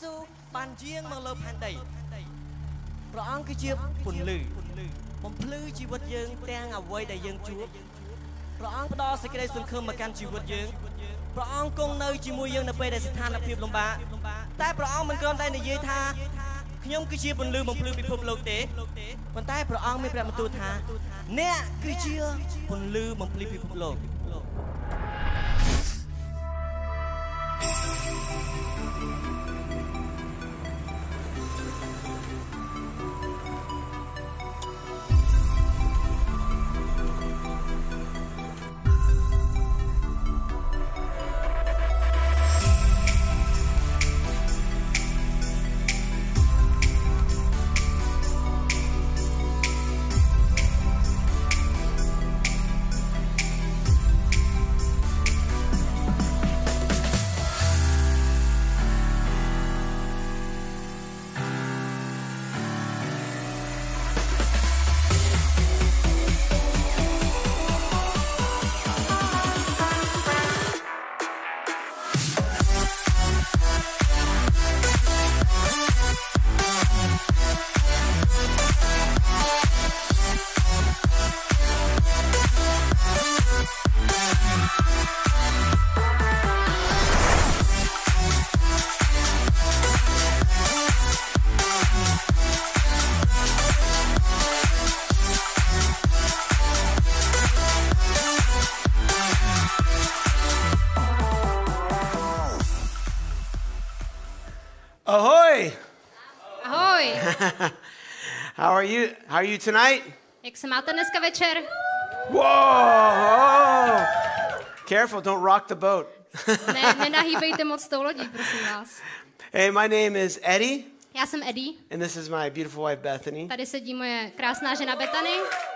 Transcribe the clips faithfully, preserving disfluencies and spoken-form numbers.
ស៊ូបានយាងមកលើផែនដីព្រះអង្គគឺជាពន្លឺបំភ្លឺជីវិតយើងទាំងអ្វីដែលយើងជួបព្រះអង្គផ្ដល់សេចក្តីសង្ឃឹមមកកាន់ជីវិតយើងព្រះអង្គគង់នៅជាមួយយើងនៅពេលដែលស្ថានភាពលំបាកតែព្រះអង្គមិនគ្រាន់តែនិយាយថាខ្ញុំគឺជាពន្លឺបំភ្លឺពិភពលោកទេប៉ុន្តែព្រះអង្គមានព្រះបន្ទូលថាអ្នកគឺជាពន្លឺបំភ្លឺពិភពលោក Ahoy! Ahoj! How are you? How are you tonight? Jak se máte dneska večer? Whoa! Careful, don't rock the boat. Ne, nenahýbejte moc tou lodí, prosím vás. Hey, my name is Eddie. Já jsem Eddie. And this is my beautiful wife Bethany. Tady sedí moje krásná žena Bethany.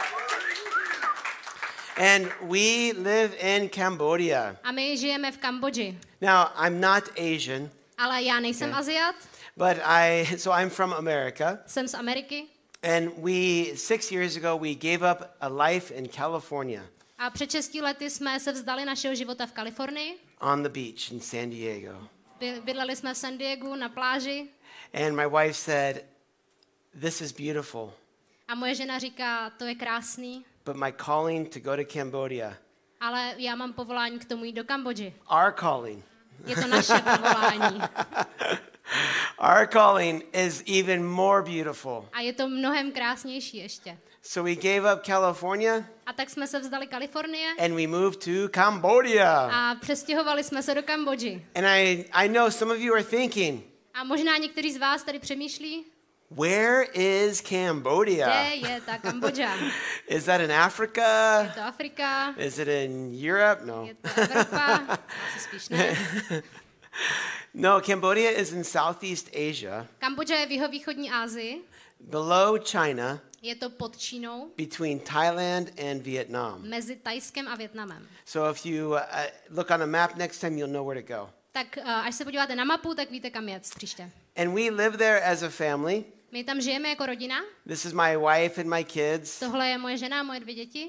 And we live in Cambodia. A my žijeme v Kambodži. Now, I'm not Asian. Ale já nejsem Okay. Aziat. But I, so I'm from America. Jsem z Ameriky. And we, six years ago, we gave up a life in California. A před šesti lety jsme se vzdali našeho života v Kalifornii. On the beach in San Diego. By- Bydleli jsme v San Diegu na pláži. And my wife said, this is beautiful, A moje žena říká, to je krásný, but my calling to go to Cambodia, ale já mám povolání k tomu jít do Kambodži. our calling, Je to naše povolání. our calling is even more beautiful. A je to mnohem krásnější ještě. So we gave up California A tak jsme se vzdali Kalifornie and we moved to Cambodia. a přestěhovali jsme se do Kambodži. And I, I know some of you are thinking, A možná někteří z vás tady přemýšlí, where is Cambodia? kde je ta Kambodža. Is that in Africa? Je to Afrika, Is it in Europe? No. je to Evropa, asi spíš ne. No, Cambodia is in Southeast Asia, Kambodža je v jihovýchodní Asii, below China, je to pod Čínou, between Thailand and Vietnam. mezi Thajskem a Vietnamem. So if you uh, look on a map next time, you'll know where to go. Tak uh, až se podíváte na mapu, tak víte, kam jet příště. And we live there as a family. My tam žijeme jako rodina. This is my wife and my kids. Tohle je moje žena a moje dvě děti.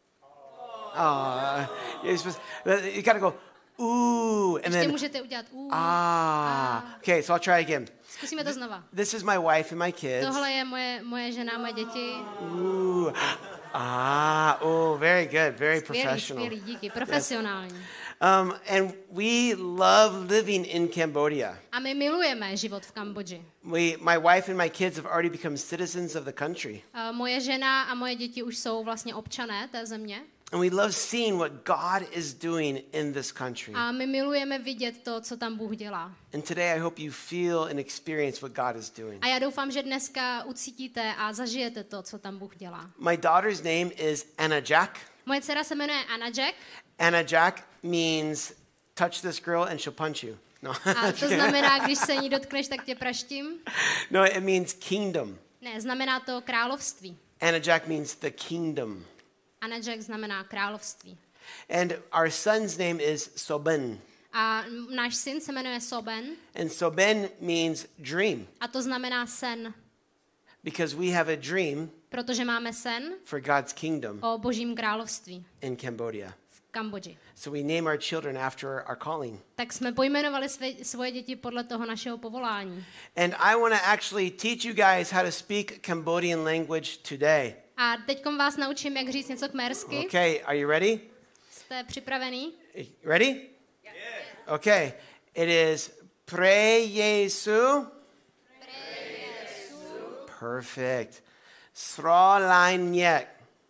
Oh, you're supposed, you gotta go, ooh, and Ještě then, můžete udělat uh, ah. Okay, so I'll try again. Zkusíme to znova. This is my wife and my kids. Tohle je moje, moje žena a moje děti. Ooh, ah, oh, very good, very Skvělý, professional. skvělý, díky, profesionální. Um, and we love living in Cambodia. A my milujeme život v Kambodži. We, my wife and my kids have already become citizens of the country. Uh, moje žena a moje děti už jsou vlastně občané té země. And we love seeing what God is doing in this country. A my milujeme vidět to, co tam Bůh dělá. And today I hope you feel and experience what God is doing. A já doufám, že dneska ucítíte a zažijete to, co tam Bůh dělá. My daughter's name is Anna Jack. Moje dcera se jmenuje Anna Jack Anna Jack means touch this girl and she'll punch you. No. a to znamená, když se ní dotkneš, tak tě praštím. No, it means kingdom. Ne, znamená to království. Anna Jack means the kingdom. Anna Jack znamená království. And our son's name is Soben. A náš syn se jmenuje Soben And Soben means dream a to znamená sen, because we have a dream protože máme sen for God's kingdom o božím království in Cambodia. v Kambodži. So we name our children after our calling. Tak jsme pojmenovali své, svoje děti podle toho našeho povolání. And I want to actually teach you guys how to speak Cambodian language today. A teďkom vás naučím, jak říct něco kmersky. Okay, are you ready? Jste připravený? Ready? Yes. Okay. It is Pre Jesu. Pre Jesu. Perfect. Srolainyek.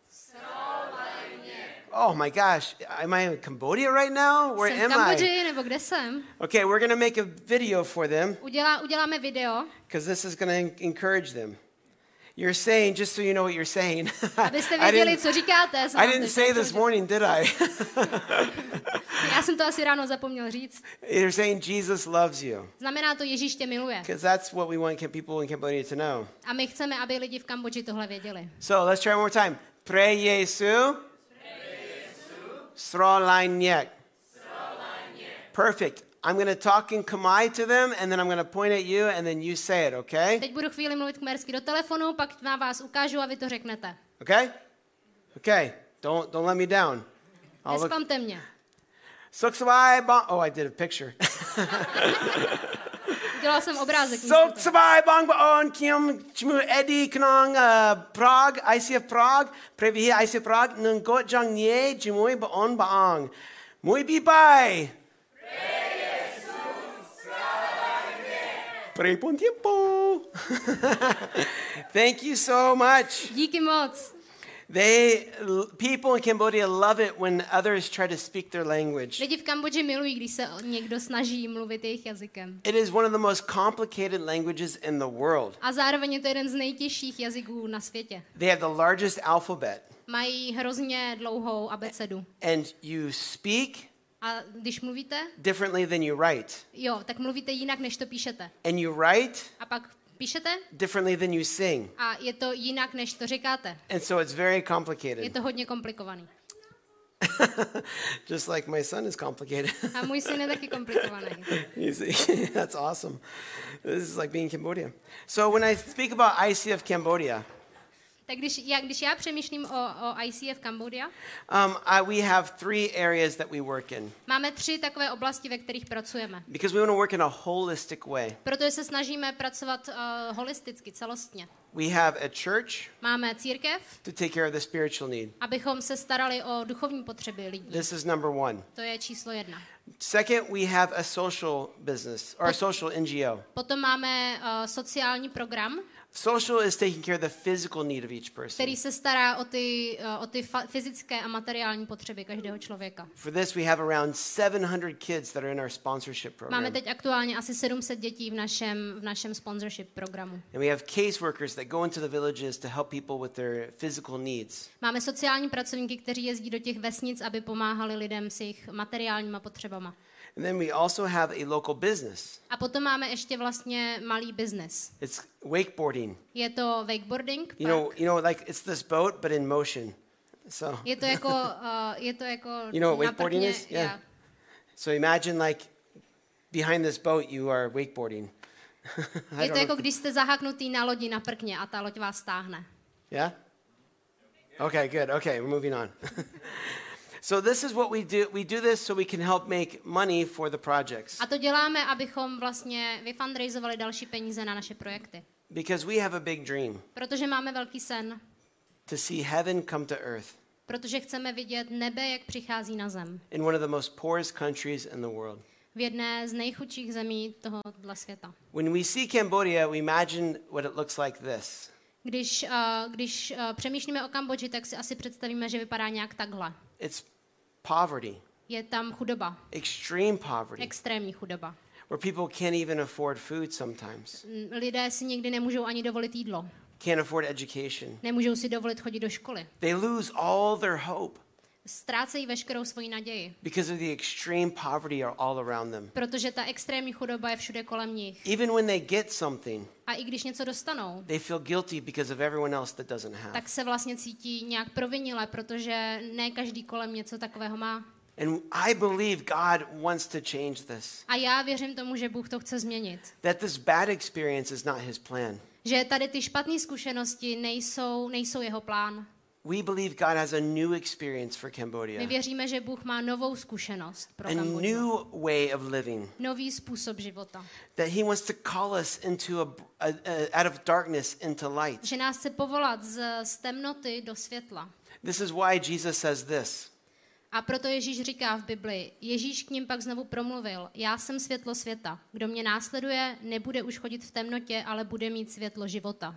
Oh my gosh, am I in Cambodia right now? Where Jsem v am Kambodži, I? nebo kde jsem? Okay, we're going to make a video for them Udělá, uděláme video, because this is going to encourage them. You're saying, just so you know what you're saying. abyste I věděli, didn't, co říkáte. I didn't say this morning, did I? Já jsem to asi ráno zapomněl říct. You're saying Jesus loves you Znamená to, Ježíš tě miluje. because that's what we want people in Cambodia to know. A my chceme, aby lidi v Kambodži tohle věděli. So let's try one more time. Pre Jesu. Srolainyek. Perfect. I'm going to talk in Khmer to them, and then I'm going to point at you, and then you say it, okay? Teď budu chvíli mluvit kmersky do telefonu, pak na vás ukážu a vy to řeknete. Okay? Okay. Don't don't let me down. I'll look. Nesklamte mě. Soksawai bong. Oh, I did a picture. Udělal jsem obrázek. místo toho. Soksawai bong baon kim chmu Eddie knong Prague, I C F Prague, previ I C F Prague nung got jang nie jimui baon baong. Muy bi bai. Pray pon tiempo. Thank you so much. Díky moc. They people in Cambodia love it when others try to speak their language. Lidi v Kambodži milují, když se někdo snaží mluvit jejich jazykem. It is one of the most complicated languages in the world. A zároveň je to jeden z nejtěžších jazyků na světě. They have the largest alphabet. Mají hrozně dlouhou abecedu. And you speak A když mluvíte, differently than you write. jo, tak mluvíte jinak, než to píšete. And you write A pak píšete differently than you sing. a je to jinak, než to říkáte. And so it's very Je complicated. to hodně komplikovaný. Just like my son is complicated. A můj syn je taky komplikovaný. You see, that's awesome. This is like being in Cambodia. So when I speak about I C F Cambodia, Tak když já, když já přemýšlím o, o I C F Cambodia, um, I, we have three areas that we work in máme tři takové oblasti, ve kterých pracujeme. because we want to work in a holistic way. Protože se snažíme pracovat uh, holisticky, celostně. We have a church Máme církev, to take care of the spiritual need. abychom se starali o duchovní potřeby lidí. This is number one. To je číslo jedna. Second, we have a social business or a social N G O. Potom máme uh, sociální program, Social is taking care of the physical need of each person. který se stará o ty, uh, o ty fa- fyzické a materiální potřeby každého člověka. For this, we have around seven hundred kids that are in our sponsorship Máme program. teď aktuálně asi sedm set dětí v našem, v našem sponsorship programu. And we have caseworkers that go into the villages to help people with their physical needs. Máme sociální pracovníky, kteří jezdí do těch vesnic, aby pomáhali lidem s jejich materiálníma potřebama. And then we also have a local business. A potom máme ještě vlastně malý biznes. It's wakeboarding. Je to wakeboarding. You know, park. you know, like it's this boat, but in motion. So, Je to jako, uh, je to jako you know what na wakeboarding prkně, is? Yeah. yeah. So imagine like behind this boat, you are wakeboarding. I Je don't to know jako if- když jste zaháknutý na lodi na prkně a ta loď vás stáhne. Yeah? Okay, good. Okay, we're moving on. So this is what we do. We do this so we can help make money for the projects. A to děláme, abychom vlastně vyfundraizovali další peníze na naše projekty. Because we have a big dream Protože máme velký sen. to see heaven come to earth Protože chceme vidět nebe, jak přichází na zem. in one of the most poorest countries in the world. V jedné z nejchudších zemí tohohle světa. When we see Cambodia, we imagine what it looks like this. Když, uh, když uh, přemýšlíme o Kambodži, tak si asi představíme, že vypadá nějak takhle. It's poverty, Je tam chudoba, extreme poverty, extrémní chudoba. where people can't even afford food sometimes, Mm, Lidé si někdy nemůžou ani dovolit jídlo. can't afford education. Nemůžou si dovolit chodit do školy. They lose all their hope Ztrácejí veškerou svoji naději, because of the extreme poverty are all around them. protože ta extrémní chudoba je všude kolem nich. Even when they get something, A i když něco dostanou, they feel guilty because of everyone else that doesn't have. tak se vlastně cítí nějak provinile, protože ne každý kolem něco takového má. And I believe God wants to change this. A já věřím tomu, že Bůh to chce změnit. That this bad experience is not his plan. Že tady ty špatné zkušenosti nejsou, nejsou jeho plán. We believe God has a new experience for My Cambodia, věříme, že Bůh má novou zkušenost pro a Kambodžu. new way of living. Nový způsob života. That He wants to call us into a, a, a out of darkness into light. Že nás chce povolat z, z temnoty do světla. This is why Jesus says this. A proto Ježíš říká v Biblii, Ježíš k nim pak znovu promluvil, já jsem světlo světa. Kdo mě následuje, nebude už chodit v temnotě, ale bude mít světlo života.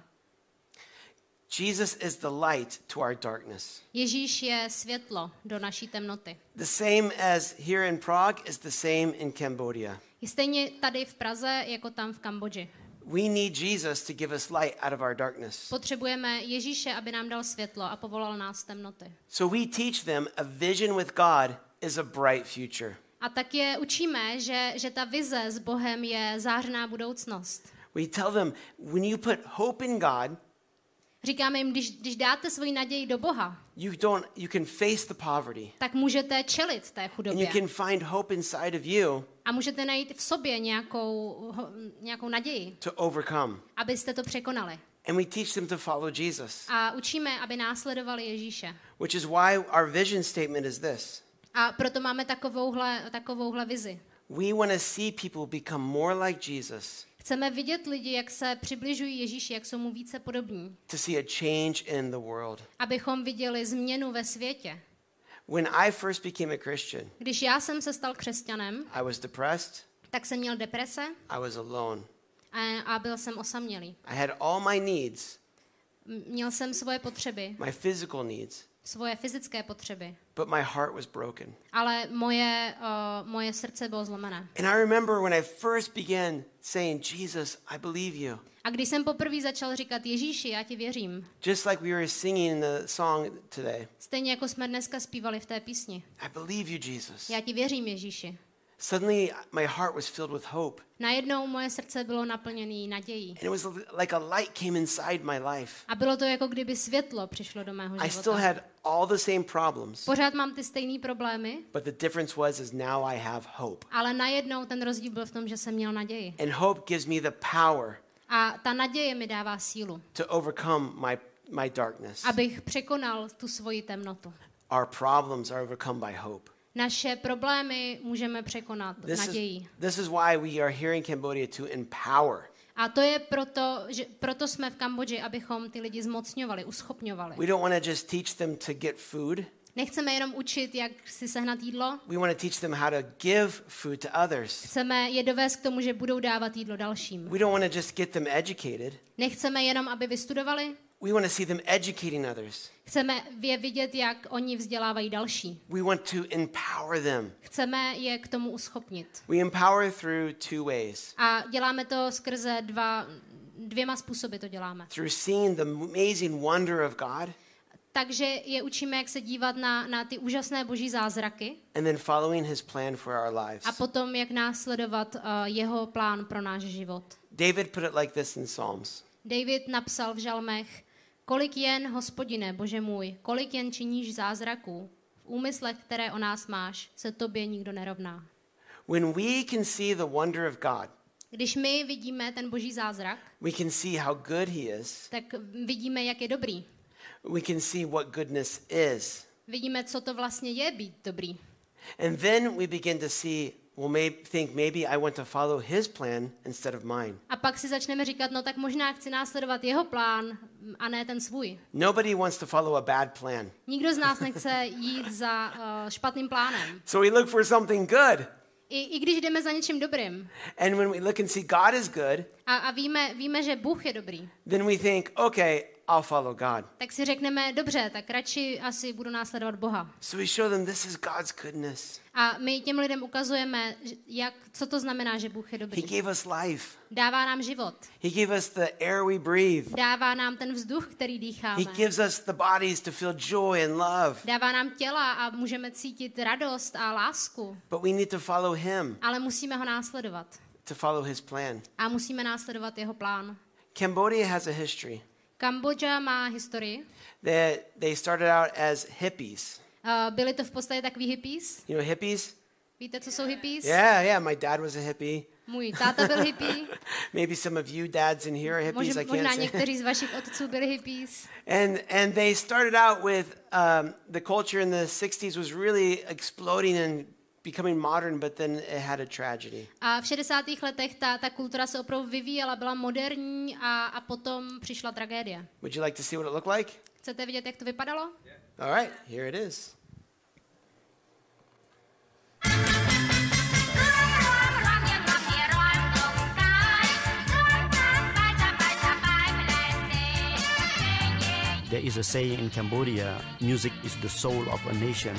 Jesus is the light to our darkness. Ježíš je světlo do naší temnoty. The same as here in Prague is the same in Cambodia. Je stejně tady v Praze, jako tam v Kambodži. We need Jesus to give us light out of our darkness. Potřebujeme Ježíše, aby nám dal světlo a povolal nás z temnoty. So we teach them a vision with God is a bright future. A tak je učíme, že, že ta vize s Bohem je zářná budoucnost. We tell them when you put hope in God, Říkáme jim, když, když dáte svoji naději do Boha, you don't you can face the poverty. tak můžete čelit té And you chudobě. can find hope inside of you A můžete najít v sobě nějakou, ho- nějakou naději, to overcome. abyste to překonali. And we teach them to follow Jesus, A učíme, aby následovali Ježíše. which is why our vision statement is this. A proto máme takovouhle, takovouhle vizi. We want to see people become more like Jesus, Chceme vidět lidi, jak se přibližují Ježíši, jak jsou mu více podobní. to see a change in the world. Abychom viděli změnu ve světě. When I first became a Christian, Když já jsem se stal křesťanem, I was depressed, tak jsem měl deprese I was alone. a, a byl jsem osamělý. I had all my needs, M- Měl jsem svoje potřeby, my physical needs, svoje fyzické potřeby, but my heart was broken. ale moje, uh, moje srdce bylo zlomené. And I remember when I first began saying, Jesus, I believe you. A když jsem poprvé začal říkat Ježíši, já ti věřím, Just like we were singing in the song today. stejně jako jsme dneska zpívali v té písni. I believe you, Jesus. Já ti věřím, Ježíši. Suddenly my heart was filled with hope. Najednou moje srdce bylo naplněné nadějí. And it was like a light came inside my life. A bylo to jako kdyby světlo přišlo do mého I still života. had all the same problems, Pořád mám ty stejné problémy, but the difference was is now I have hope. ale najednou ten rozdíl byl v tom, že jsem měl naději. And hope gives me the power A ta naděje mi dává sílu, to overcome my, my darkness. abych překonal tu svoji temnotu. Our problems are overcome by hope. Naše problémy můžeme překonat This is, nadějí. this is why we are here in Cambodia to empower. A to je proto, že proto jsme v Kambodži, abychom ty lidi zmocňovali, uschopňovali. We don't want to just teach them to get food. Nechceme jenom učit, jak si sehnat jídlo, We want to teach them how to give food to others. chceme je dovést k tomu, že budou dávat jídlo dalším. We don't want to just get them educated. Nechceme jenom, aby vystudovali, We want to see them educating others. chceme je vidět, jak oni vzdělávají další. We want to empower them. Chceme je k tomu uschopnit. We empower through two ways. A děláme to skrze dva, dvěma způsoby to děláme. Through seeing the amazing wonder of God Takže je učíme, jak se dívat na, na ty úžasné boží zázraky and then following his plan for our lives. a potom, jak následovat uh, jeho plán pro náš život. David put it like this in Psalms. David napsal v žalmech, kolik jen, Hospodine, Bože můj, kolik jen činíš zázraků, v úmyslech, které o nás máš, se tobě nikdo nerovná. When we can see the wonder of God, Když my vidíme ten boží zázrak, we can see how good he is. tak vidíme, jak je dobrý. We can see what goodness is. Vidíme, co to vlastně je být dobrý. And then we begin to see, well, maybe, think maybe I want to follow his plan instead of mine. A pak si začneme říkat, no tak možná chci následovat jeho plán a ne ten svůj. Nobody wants to follow a bad plan. Nikdo z nás nechce jít za uh, špatným plánem. So we look for something good. I, I když jdeme za něčím dobrým And when we look and see God is good, a, a víme, víme, že Bůh je dobrý, then we think, okay, I'll follow God. tak si řekneme, dobře, tak radši asi budu následovat Boha. So we show them this is God's goodness. A my těm lidem ukazujeme, jak, co to znamená, že Bůh je He dobrý. gave us life. Dává nám život. He gave us the air we breathe. Dává nám ten vzduch, který dýcháme. He gives us the bodies to feel joy and love. Dává nám těla a můžeme cítit radost a lásku. But we need to follow him, Ale musíme ho následovat. to follow his plan. A musíme následovat jeho plán. Cambodia has a history. Kambodža má historii. They, they started out as hippies. Uh, byli to v podstatě takový hippies. You know hippies? Víte, co jsou hippies? Yeah, yeah, my dad was a hippie. Můj táta byl hippie. Maybe some of you dads in here are hippies. Možná, I can't možná say. někteří z vašich otců byli hippies. And and they started out with um, the culture in the sixties was really exploding and becoming modern, but then it had a tragedy. A v šedesátých letech ta, ta kultura se opravdu vyvíjela, byla moderní a, a potom přišla tragédie. Would you like to see what it looked like? Chcete vidět, jak to vypadalo? All right, here it is. There is a saying in Cambodia, music is the soul of a nation.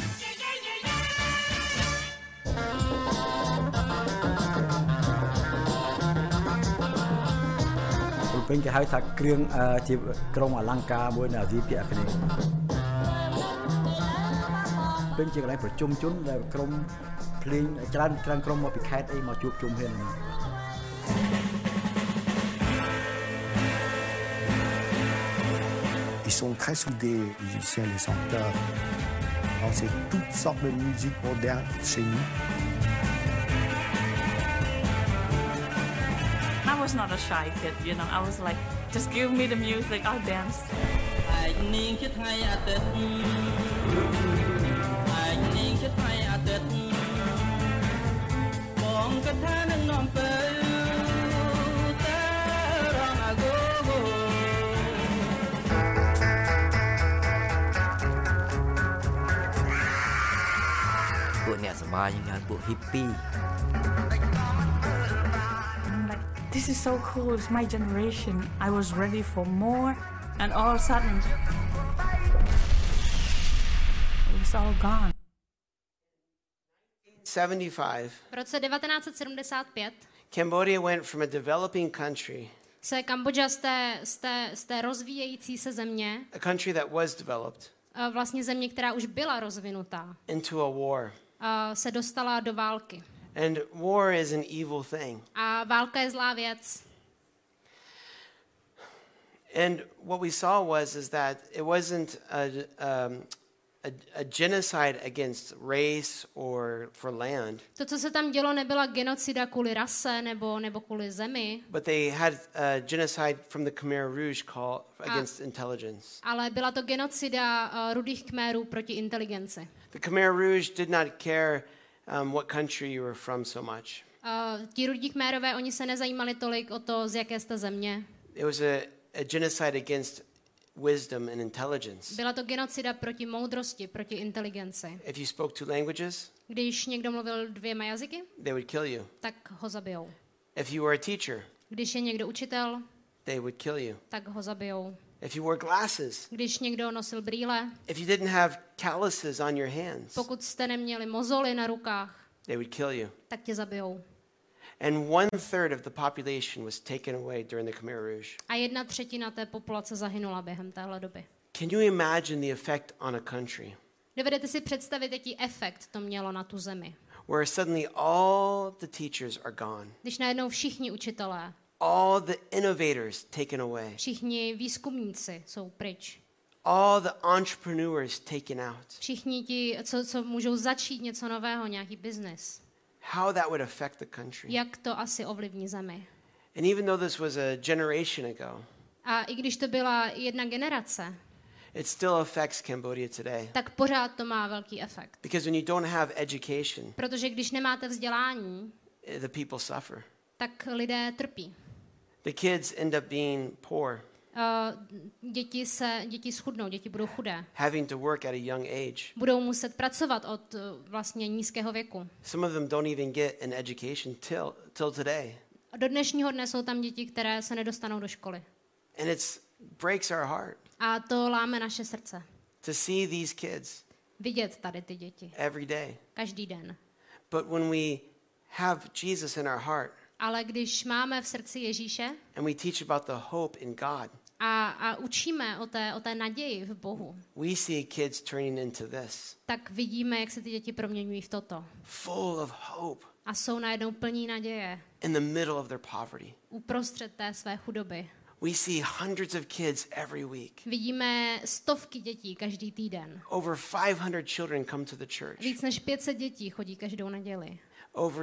Bên cái hai thạc krương thì krong Alangka buổi nào gì kia cái này. Bên chỉ cái này phải chung chung là krong pling trăn trăn krong mà bị khai ấy mà chụp chung hết này. Ils sont très soudés, les musiciens, les chanteurs. Alors c'est toutes sortes de musique moderne chez nous. I was not a shy kid, you know. I was like, just give me the music, I'll dance. And I'm like, this is so cool, it's my generation. I was ready for more, and all of a sudden, it was all gone. seventy-five, V roce devatenáct set sedmdesát pět Cambodia went from a developing country, se Kambodža z té, z, té, z té rozvíjející se země, a country that was developed, a vlastně země, která už byla rozvinutá, into a war. a se dostala do války. And war is an evil thing. A válka je zlá věc. And what we saw was is that it wasn't a, um, a, a genocide against race or for land, To, co se tam dělo, nebyla genocida kvůli rase nebo, nebo kvůli zemi, but they had a genocide from the Khmer Rouge called against intelligence. ale byla to genocida uh, rudých Khmerů proti inteligenci. The Khmer Rouge did not care um, what country you were from so much. Uh, ti rudí Khmerové, oni se nezajímali tolik o to, z jaké jste země. It was a, a genocide against wisdom and intelligence. Byla to genocida proti moudrosti, proti inteligenci. If you spoke two languages, Když někdo mluvil dvěma jazyky, they would kill you. tak ho zabijou. If you were a teacher, Když je někdo učitel, they would kill you. tak ho zabijou. If you wore glasses, Když někdo nosil brýle, if you didn't have calluses on your hands, pokud jste neměli mozoly na rukách, they would kill you. tak tě zabijou. And one third of the population was taken away during the Khmer Rouge. A jedna třetina té populace zahynula během téhle doby. Can you imagine the effect on a country Dovedete si představit, jaký efekt to mělo na tu zemi? where suddenly all the teachers are gone, Když najednou všichni učitelé, all the innovators taken away, všichni výzkumníci jsou pryč, all the entrepreneurs taken out? všichni ti, co, co můžou začít něco nového, nějaký biznis, How that would affect the country. jak to asi ovlivní zemi? And even though this was a generation ago, A i když to byla jedna generace, it still affects Cambodia today. tak pořád to má velký efekt. Because when you don't have education, Protože když nemáte vzdělání, the people suffer. tak lidé trpí. The kids end up being poor, Uh, děti se, děti schudnou, děti budou chudé. having to work at a young age. Budou muset pracovat od uh, vlastně nízkého věku. Some of them don't even get an education till till today. A do dnešního dne jsou tam děti, které se nedostanou do školy. And it breaks our heart A to láme naše srdce. to see these kids Vidět tady ty děti. every day. Každý den. But when we have Jesus in our heart Ale když máme v srdci Ježíše and we teach about the hope in God, a, a učíme o té, o té naději v Bohu, we see kids turning into this, tak vidíme, jak se ty děti proměňují v toto. full of hope A jsou najednou plní naděje in the middle of their poverty. uprostřed té své chudoby. We see hundreds of kids every week. Vidíme stovky dětí každý týden. Over five hundred children come to the church. Víc než pět set dětí chodí každou neděli. Over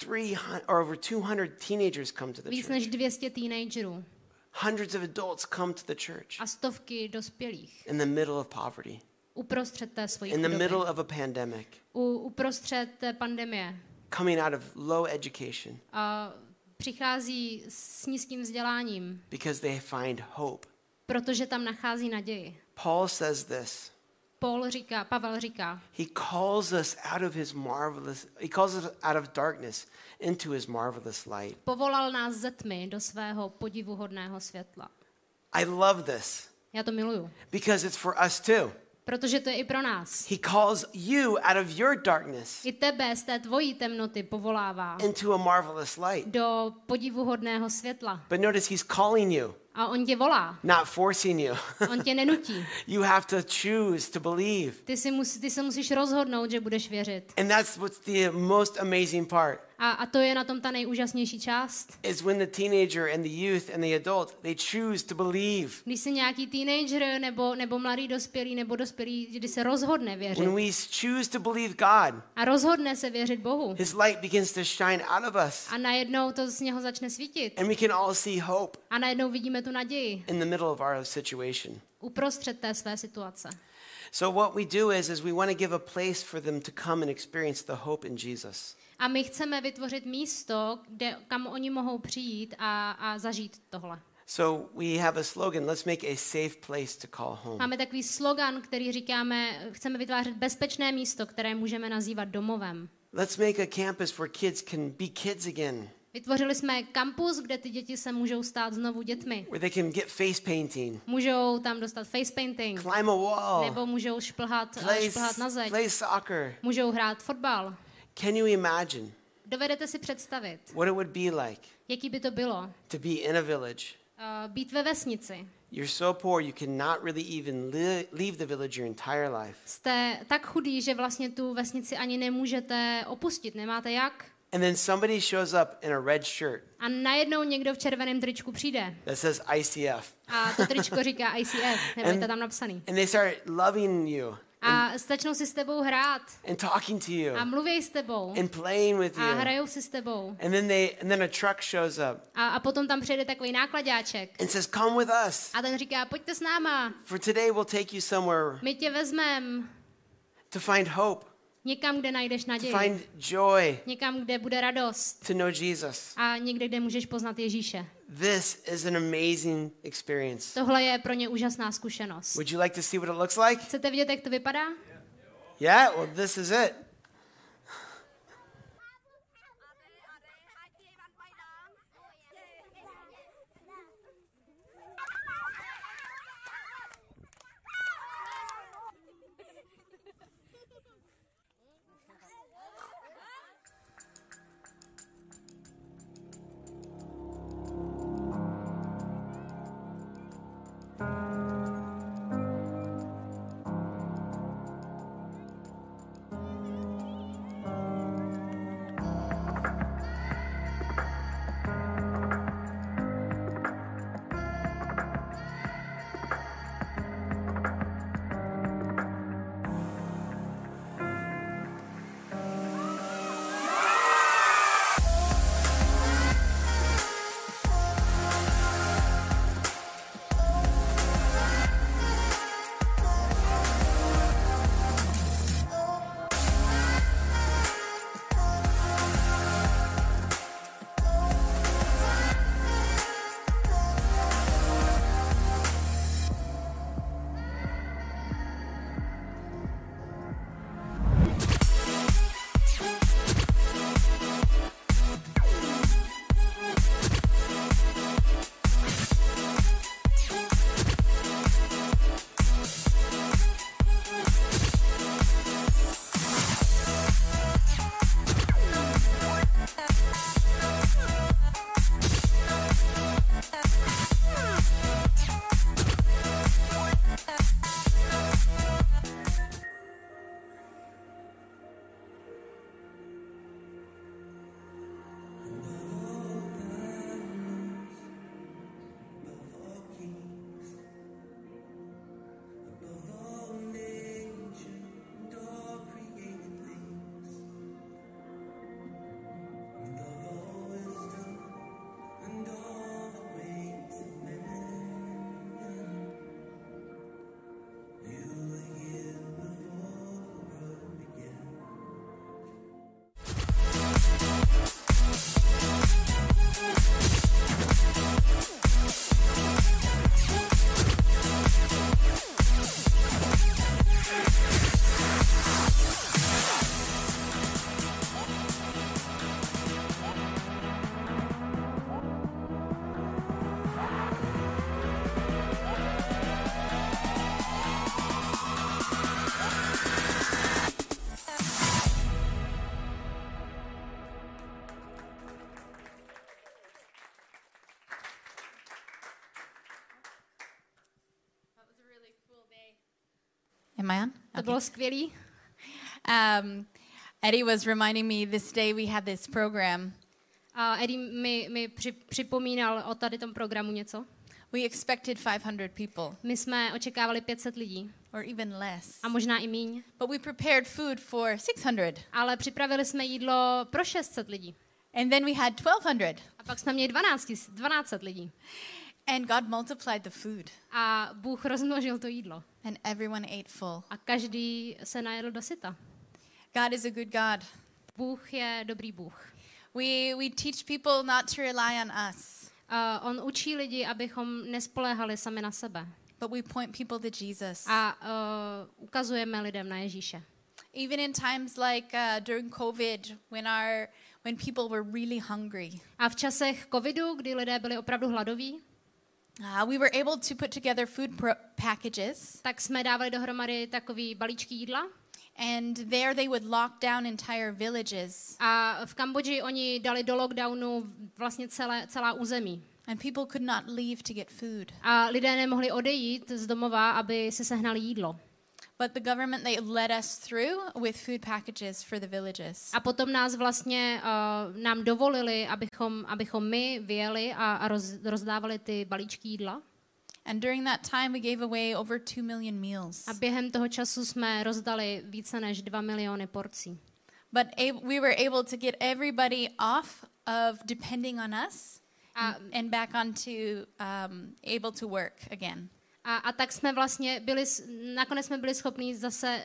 three hundred or over two hundred teenagers come to the Víc church. než dvě stě teenagerů Hundreds of adults come to the church a stovky dospělých in the middle of poverty, uprostřed té svojí in the chudoby, middle of a pandemic, u, uprostřed té pandemie coming out of low education a přichází s nízkým vzděláním, because they find hope. protože tam nachází naději. Paul says this. Paul říká, Pavel říká, He calls us out of his marvelous, he calls us out of darkness into his marvelous light. povolal nás ze tmy do svého podivuhodného světla. I love this Já to miluju, because it's for us too. protože to je i pro nás. He calls you out of your darkness I tebe z té tvojí temnoty povolává into a marvelous light. do podivuhodného světla. But notice he's calling you, A on tě volá, not forcing you. on tě nenutí. You have to choose to believe. Ty, si musí, ty se musíš rozhodnout, že budeš věřit. And that's what's the most amazing part. A, a to je na tom ta nejúžasnější část. Is when the teenager and the youth and the adult, they choose to believe. Když si nějaký teenager nebo, nebo mladý dospělý nebo dospělý, když se rozhodne věřit When we choose to believe God, a rozhodne se věřit Bohu his light begins to shine out of us. a najednou to z něho začne svítit And we can all see hope a najednou vidíme tu naději in the middle of our situation. uprostřed té své situace. So what we do is, is we want to give a place for them to come and experience the hope in Jesus. A my chceme vytvořit místo, kde, kam oni mohou přijít a, a zažít tohle. So we have a slogan, let's make a safe place to call home. Máme takový slogan, který říkáme, chceme vytvářet bezpečné místo, které můžeme nazývat domovem. Let's make a campus where kids can be kids again, Vytvořili jsme kampus, kde ty děti se můžou stát znovu dětmi. where they can get face painting, Můžou tam dostat face painting, climb a wall, nebo můžou šplhat, play, šplhat na zeď, play soccer. můžou hrát fotbal. Can you imagine Dovedete si představit, what it would be like jaký by to bylo to be in a village? uh, být ve vesnici. You're so poor you cannot really even li- leave the village your entire life. Jste tak chudí, že vlastně tu vesnici ani nemůžete opustit, nemáte jak. And then somebody shows up in a red shirt A najednou někdo v červeném tričku přijde that says I C F. a to tričko říká I C F, nebo je to tam napsaný. And they start loving you A začnou si s tebou hrát and talking to you a mluví s tebou and playing with a you. hrajou si s tebou. And then they and then a truck shows up A, a potom tam přijde takový nákladáček and says, "Come with us. a ten říká, pojďte s náma, For today we'll take you somewhere my tě vezmem to find hope, někam, kde najdeš to naději, find joy, někam, kde bude radost to know Jesus." a někde, kde můžeš poznat Ježíše. This is an amazing experience. Tohle je pro ně úžasná zkušenost. Would you like to see what it looks like? Chcete vidět, jak to vypadá? Yeah, well this is it. Am I on? To Okay. bylo skvělý. Um, Eddie was reminding me this day we had this program. A Eddie mi, mi při, připomínal o tady tom programu něco. We expected five hundred people My jsme očekávali pět set lidí or even less. a možná i míň, But we prepared food for six hundred. ale připravili jsme jídlo pro šest set lidí. And then we had twelve hundred. A pak jsme měli dvanáct set lidí. And God multiplied the food. A Bůh rozmnožil to jídlo. And everyone ate full. A každý se najedl do syta. God is a good God. Bůh je dobrý Bůh. We, we teach people not to rely on us, Uh, on učí lidi, abychom nespoléhali sami na sebe. but we point people to Jesus. A uh, ukazujeme lidem na Ježíše. Even in times like uh, during COVID, when our when people were really hungry, A v časech covidu, kdy lidé byli opravdu hladoví, uh, we were able to put together food pro- packages, tak jsme dávali dohromady takový balíčky jídla. and there they would lock down entire villages, A v Kambodži oni dali do lockdownu vlastně celé, celá území. and people could not leave to get food. A lidé nemohli odejít z domova, aby si sehnali jídlo. But the government, they led us through with food packages for the villages. A potom nás vlastně uh, nám dovolili, abychom, abychom my vyjeli a, a roz, rozdávali ty balíčky jídla. And during that time, we gave away over two million meals. A během toho času jsme rozdali více než dva miliony porcí. But a- we were able to get everybody off of depending on us A, and back onto um, able to work again. a, a tak jsme vlastně byli, s- nakonec jsme byli schopni zase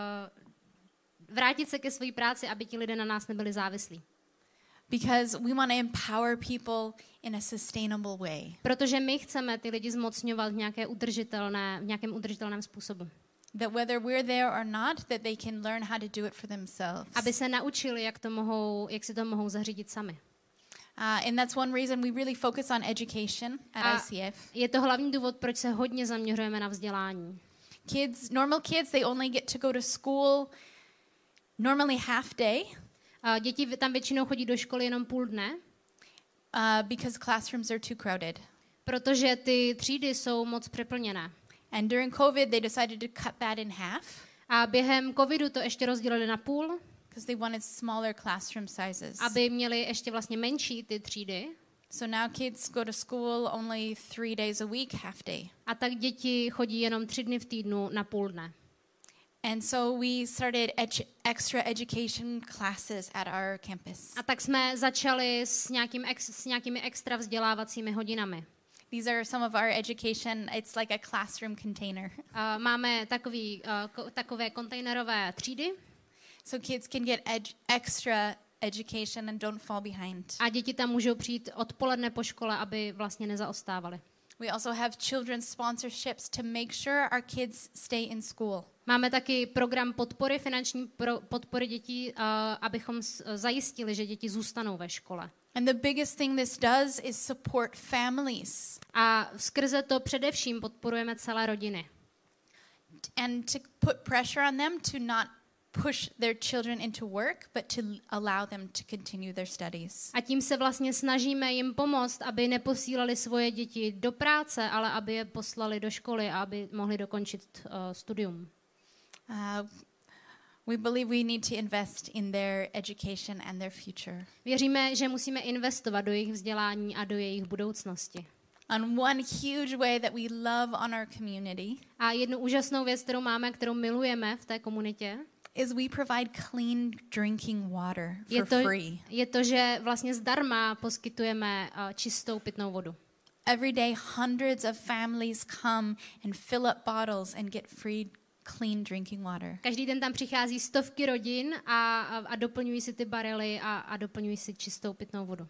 uh, vrátit se ke své práci, aby ti lidé na nás nebyli závislí. Because we want to empower people in a sustainable way. Protože my chceme ty lidi zmocňovat v, nějaké udržitelné, v nějakém udržitelném způsobu. That whether we're there or not, that they can learn how to do it for themselves. Aby se naučili, jak, to mohou, jak si to mohou zařídit sami. Uh, and that's one reason we really focus on education at A I C F. je to hlavní důvod, proč se hodně zaměřujeme na vzdělání. Kids, normal kids, they only get to go to school normally half day A děti tam většinou chodí do školy jenom půl dne, uh, because classrooms are too crowded. protože ty třídy jsou moc přeplněné. And during COVID, they decided to cut that in half A během covidu to ještě rozdělili na půl, because they wanted smaller classroom sizes. aby měli ještě vlastně menší ty třídy. So now kids go to school only three days a week, half day. A tak děti chodí jenom tři dny v týdnu na půl dne. And so we started edu- extra education classes at our campus. A tak jsme začali s, nějakým ex, s nějakými extra vzdělávacími hodinami. These are some of our education. It's like a classroom container. A máme takový, uh, ko, takové kontejnerové třídy So kids can get ed- extra education and don't fall behind. a děti tam můžou přijít odpoledne po škole, aby vlastně nezaostávali. We also have children's sponsorships to make sure our kids stay in school. Máme taky program podpory, finanční pro, podpory dětí, uh, abychom s, zajistili, že děti zůstanou ve škole. And the biggest thing this does is support families A skrze to především podporujeme celé rodiny. and to put pressure on them to not push their children into work, but to allow them to continue their studies. A tím se vlastně snažíme jim pomoct, aby neposílali svoje děti do práce, ale aby je poslali do školy a aby mohli dokončit uh, studium. Uh, we believe we need to invest in their education and their future. Věříme, že musíme investovat do jejich vzdělání a do jejich budoucnosti. And one huge way that we love on our community A jednu úžasnou věc, kterou máme, kterou milujeme v té komunitě, is we provide clean drinking water je for to, free. je to, že vlastně zdarma poskytujeme uh, čistou pitnou vodu. Every day, hundreds of families come and fill up bottles and get free clean drinking water. Každý den tam přichází stovky rodin a, a, a doplňují si ty barely a, a doplňují si čistou pitnou vodu.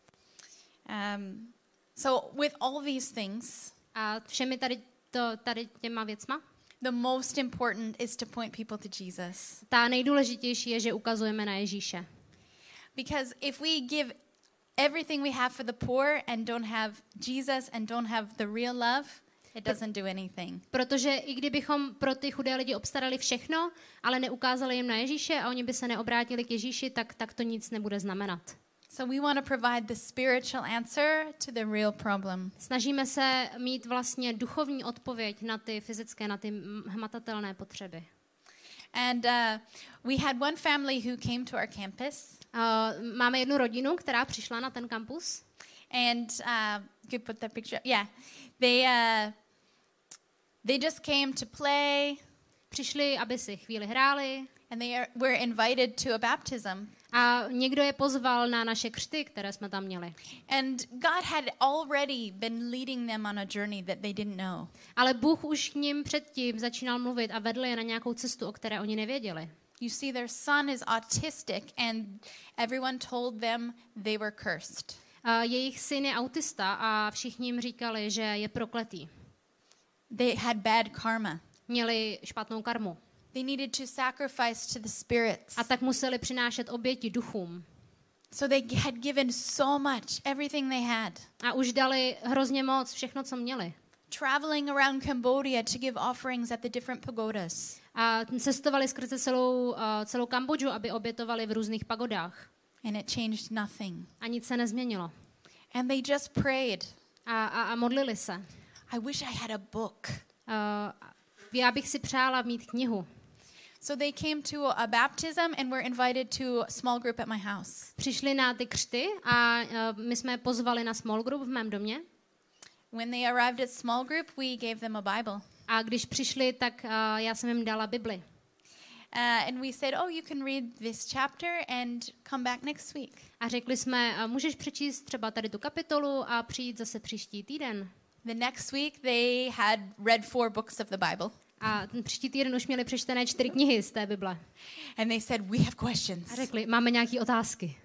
Um, so with all these things, A všemi tady, to, tady těma věcma, the most important is to point people to Jesus. ta nejdůležitější je, že ukazujeme na Ježíše. Because if we give everything we have for the poor and don't have Jesus and don't have the real love, it doesn't do anything. Protože i kdybychom pro ty chudé lidi obstarali všechno, ale neukázali jim na Ježíše a oni by se neobrátili k Ježíši, tak, tak to nic nebude znamenat. So we want to provide the spiritual answer to the real problem. Snažíme se mít vlastně duchovní odpověď na ty fyzické, na ty hmatatelné potřeby. And uh, we had one family who came to our campus. Uh, máme jednu rodinu, která přišla na ten kampus. And uh, you could put that picture. Yeah, they uh, they just came to play. Přišli, aby si chvíli hráli. And they are, were invited to a baptism. A někdo je pozval na naše křty, které jsme tam měli. And God had already been leading them on a journey that they didn't know. Ale Bůh už k nim předtím začínal mluvit a vedl je na nějakou cestu, o které oni nevěděli. You see, their son is autistic, and everyone told them they were cursed. A jejich syn je autista a všichni jim říkali, že je prokletý. They had bad karma. Měli špatnou karmu. They needed to sacrifice to the spirits. A tak museli přinášet oběti duchům. So they had given so much, everything they had. A už dali hrozně moc, všechno, co měli. Traveling around Cambodia to give offerings at the different pagodas. A cestovali skrze celou, uh, celou Kambodžu, aby obětovali v různých pagodách. And it changed nothing. A nic se nezměnilo. And they just prayed. A, a, a modlili se. I wish I had a book. Uh, já bych si přála mít knihu. So they came to a baptism and were invited to a small group at my house. Přišli na ty křty a uh, my jsme je pozvali na small group v mém domě. When they arrived at small group, we gave them a Bible. A když přišli, tak uh, já jsem jim dala Bibli. Uh, and we said, oh, you can read this chapter and come back next week. A řekli jsme, uh, můžeš přečíst třeba tady tu kapitolu a přijít zase příští týden. The next week they had read four books of the Bible. A ten příští týden už měli přečtené čtyři knihy z té Bible. And they said, we have questions. A řekli, máme nějaké otázky.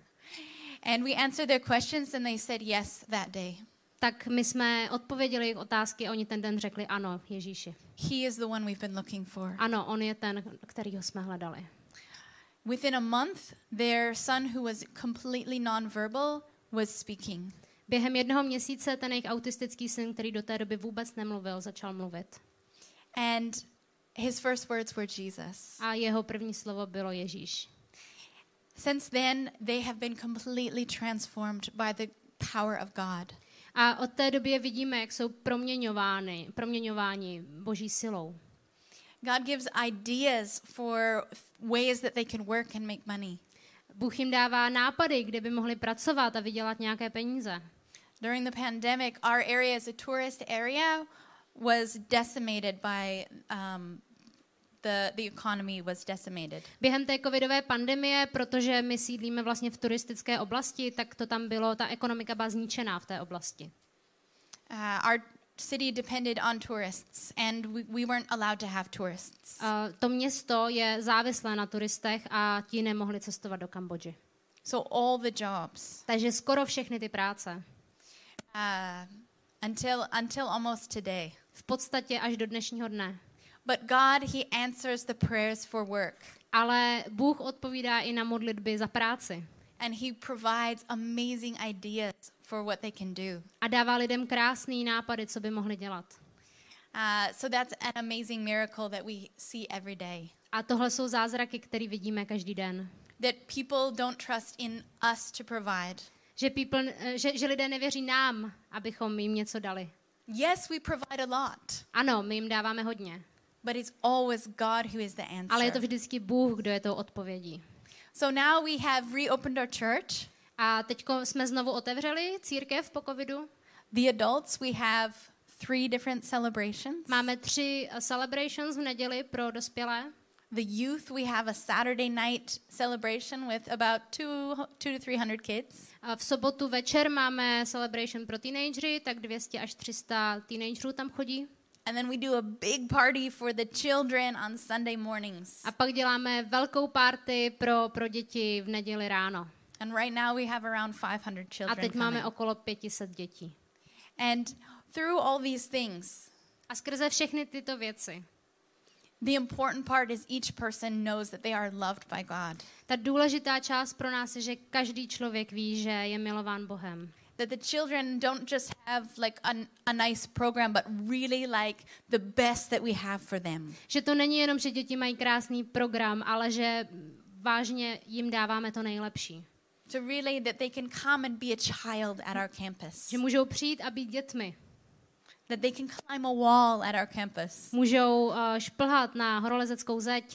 And we answered their questions and they said yes that day. Tak my jsme odpověděli jejich otázky a oni ten den řekli ano, Ježíši. He is the one we've been looking for. Ano, on je ten, kterýho jsme hledali. Within a month, their son, who was completely nonverbal, was speaking. Během jednoho měsíce ten jejich autistický syn, který do té doby vůbec nemluvil, začal mluvit. And his first words were Jesus. A jeho první slovo bylo Ježíš. Since then, they have been completely transformed by the power of God. A od té doby vidíme, jak jsou proměňovány, proměňováni Boží silou. God gives ideas for ways that they can work and make money. Bůh jim dává nápady, kde by mohli pracovat a vydělat nějaké peníze. During the pandemic, our area as a tourist area was decimated by um, the the economy was decimated. Během té covidové pandemie, protože my sídlíme vlastně v turistické oblasti, tak to tam bylo, ta ekonomika byla zničená v té oblasti. Uh, our city depended on tourists, and we, we weren't allowed to have tourists. Uh, to město je závislé na turistech a ti nemohli cestovat do Kambodži. So all the jobs. Takže skoro všechny ty práce. Uh, until until almost today. V podstatě až do dnešního dne. But God, he answers the prayers for work. Ale Bůh odpovídá i na modlitby za práci. And he provides amazing ideas for what they can do. A dává lidem krásný nápady, co by mohli dělat. Uh, so that's an amazing miracle that we see every day. A tohle jsou zázraky, které vidíme každý den. That people don't trust in us to provide. Že, people, že, že lidé nevěří nám, abychom jim něco dali. Yes, we provide a lot. Ano, my jim dáváme hodně. But it's always God who is the answer. Ale je to vždycky Bůh, kdo je tou odpovědí. So now we have reopened our church. A teďko jsme znovu otevřeli církev po covidu. The adults, we have three different celebrations. Máme tři celebrations v neděli pro dospělé. The youth, we have a Saturday night celebration with about two, two to three hundred kids. A v sobotu večer máme celebration pro teenagery, tak dvě stě až tři sta teenagerů tam chodí. And then we do a big party for the children on Sunday mornings. A pak děláme velkou party pro, pro děti v neděli ráno. And right now we have around five hundred children. A teď máme okolo pět set dětí. And through all these things, a skrze všechny tyto věci, the important part is each person knows that they are loved by God. Ta důležitá část pro nás je, že každý člověk ví, že je milován Bohem. That the children don't just have like a, a nice program, but really like the best that we have for them. Že to není jenom, že děti mají krásný program, ale že vážně jim dáváme to nejlepší. To really that they can come and be a child at our campus. Že můžou přijít a být dětmi. That they can climb a wall at our campus. Můžou uh, šplhat na horolezeckou zeď.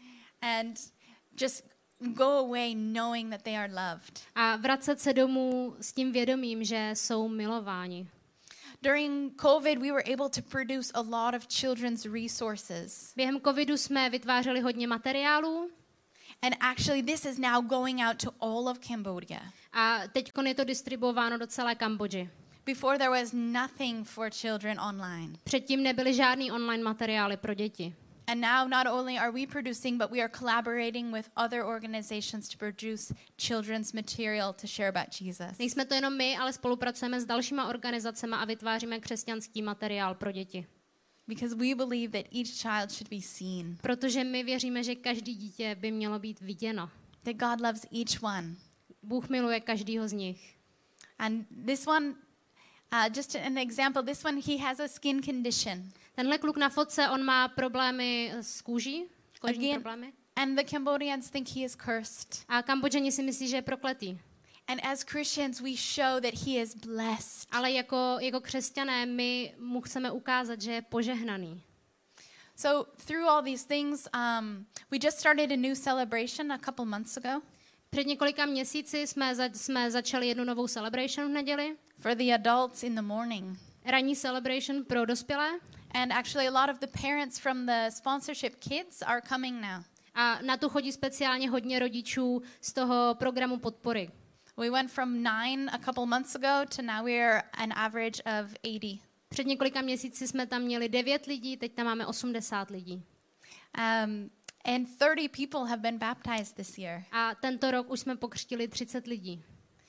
And just go away knowing that they are loved. A vracet se domů s tím vědomím, že jsou milováni. During COVID, we were able to produce a lot of children's resources. Během covidu jsme vytvářeli hodně materiálů. And actually, this is now going out to all of Cambodia. A teď je to distribuováno do celé Kambodži. Before there was nothing for children online. Předtím nebyly žádný online materiály pro děti. And now not only are we producing, but we are collaborating with other organizations to produce children's material to share about Jesus. Nejsme to jenom my, ale spolupracujeme s dalšíma organizacemi a vytváříme křesťanský materiál pro děti. Because we believe that each child should be seen. Protože my věříme, že každý dítě by mělo být viděno. That God loves each one. Bůh miluje každýho z nich. And this one, uh, just an example, this one, he has a skin condition. Tenhle kluk na fotce, on má problémy s kůží, kožní Again, problémy. And the Cambodians think he is cursed. A Kambodžani si myslí, že je prokletý. And as Christians, we show that he is blessed. Ale jako, jako křesťané my mu chceme ukázat, že je požehnaný. So through all these things, um, we just started a new celebration a couple months ago. Před několika měsíci jsme, za, jsme začali jednu novou celebration v neděli. For the adults in the morning. Ranní celebration pro dospělé. And actually a lot of the parents from the sponsorship kids are coming now. A na tu chodí speciálně hodně rodičů z toho programu podpory. We went from nine a couple months ago to now we're an average of eighty. Před několika měsíci jsme tam měli devět lidí, teď tam máme osmdesát lidí. Um, and thirty people have been baptized this year. A tento rok už jsme pokřtili třicet lidí.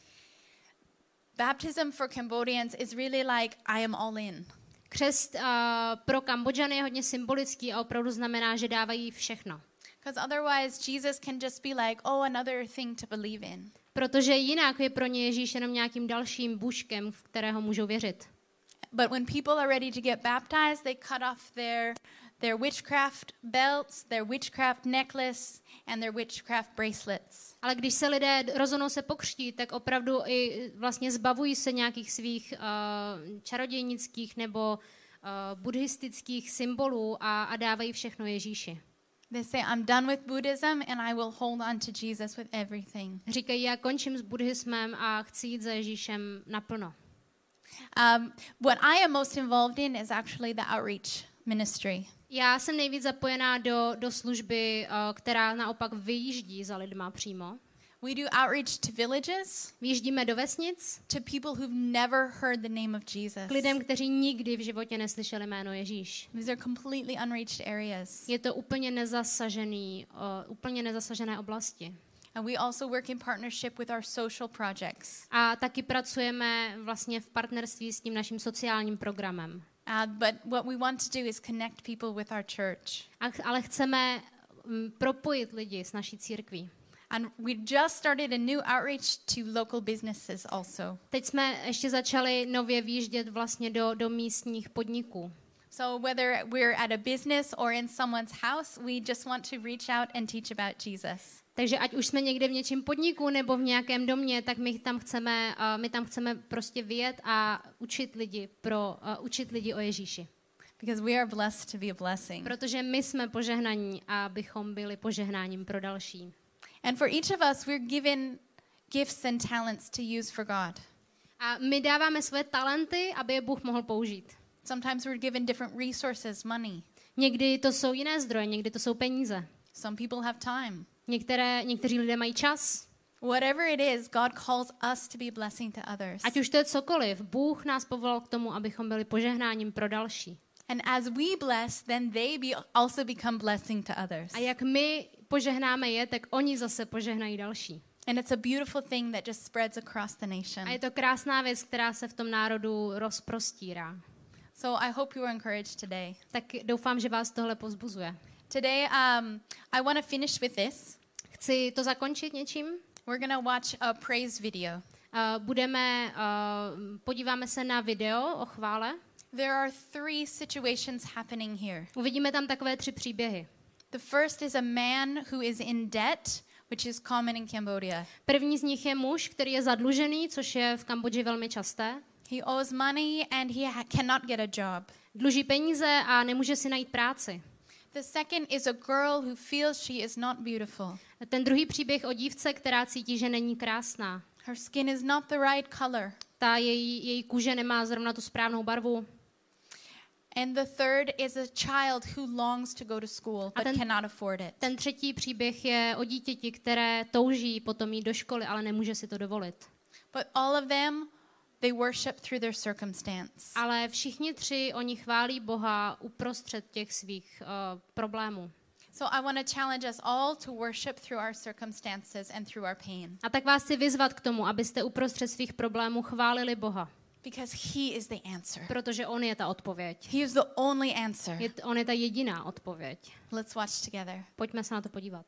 Baptism for Cambodians is really like I am all in. Křest uh, pro Kambodžany je hodně symbolický a opravdu znamená, že dávají všechno. Because otherwise Jesus can just be like, oh, another thing to believe in. Protože jinak je pro ně Ježíš jenom nějakým dalším bůžkem, v kterého můžou věřit. But when people are ready to get baptized, they cut off their their witchcraft belts, their witchcraft necklace and their witchcraft bracelets. Ale když se lidé rozhodnou se pokřtít, tak opravdu i vlastně zbavují se nějakých svých uh, čarodějnických nebo uh, buddhistických symbolů a, a dávají všechno Ježíši. They say, I'm done with Buddhism and I will hold on to Jesus with everything. Říkají, já končím s buddhismem a chci jít za Ježíšem naplno. Um, what I am most involved in is actually the outreach ministry. Já jsem nejvíc zapojená do, do služby, uh, která naopak vyjíždí za lidma přímo. We do outreach to villages. Vyjíždíme do vesnic. To people who've never heard the name of Jesus. K lidem, kteří nikdy v životě neslyšeli jméno Ježíš. These are completely unreached areas. Je to úplně nezasažený, uh, úplně nezasažené oblasti. And we also work in partnership with our social projects. A taky pracujeme vlastně v partnerství s tím naším sociálním programem. Uh, but what we want to do is connect people with our church. A, ale chceme um, propojit lidi s naší církví. And we just started a new outreach to local businesses also. Teď jsme ještě začali nově výjíždět vlastně do, do místních podniků. So whether we're at a business or in someone's house, we just want to reach out and teach about Jesus. Takže ať už jsme někde v něčím podniku nebo v nějakém domě, tak my tam chceme, uh, my tam chceme prostě vyjet a učit lidi pro uh, učit lidi o Ježíši. Because we are blessed to be a blessing. Protože my jsme požehnaní, abychom byli požehnáním pro další. And for each of us, we're given gifts and talents to use for God. A my dáváme své talenty, aby je Bůh mohl použít. Sometimes we're given different resources, money. Někdy to jsou jiné zdroje, někdy to jsou peníze. Some people have time. Některé, někteří lidé mají čas. Whatever it is, God calls us to be a blessing to others. Ať už to je cokoliv, Bůh nás povolal k tomu, abychom byli požehnáním pro další. And as we bless, then they be also become blessing to others. A jak my požehnáme je, tak oni zase požehnají další. And it's a beautiful thing that just spreads across the nation. A je to krásná věc, která se v tom národu rozprostírá. So I hope you are encouraged today. Tak doufám, že vás tohle povzbuzuje. Today, um, I want to finish with this. Chci to zakončit něčím. We're going to watch a praise video. Uh, budeme, uh, podíváme se na video o chvále. There are three situations happening here. Uvidíme tam takové tři příběhy. The first is a man who is in debt which is common in Cambodia. První z nich je muž, který je zadlužený, což je v Kambodži velmi časté. He owes money and he ha- cannot get a job. Dluží peníze a nemůže si najít práci. The second is a girl who feels she is not beautiful. Ten druhý příběh o dívce, která cítí, že není krásná. Her skin is not the right color. Ta její, její kůže nemá zrovna tu správnou barvu. And the third is a child who longs to go to school but ten- cannot afford it. Ten třetí příběh je o dítěti, které touží potom jít do školy, ale nemůže si to dovolit. But all of them, they worship through their circumstance. Ale všichni tři oni chválí Boha uprostřed těch svých uh, problémů. So I want to challenge us all to worship through our circumstances and through our pain. A tak vás chci vyzvat k tomu, abyste uprostřed svých problémů chválili Boha. Because he is the answer. Protože on je ta odpověď. He is the only answer. Je, on je ta jediná odpověď. Let's watch together. Pojďme se na to podívat.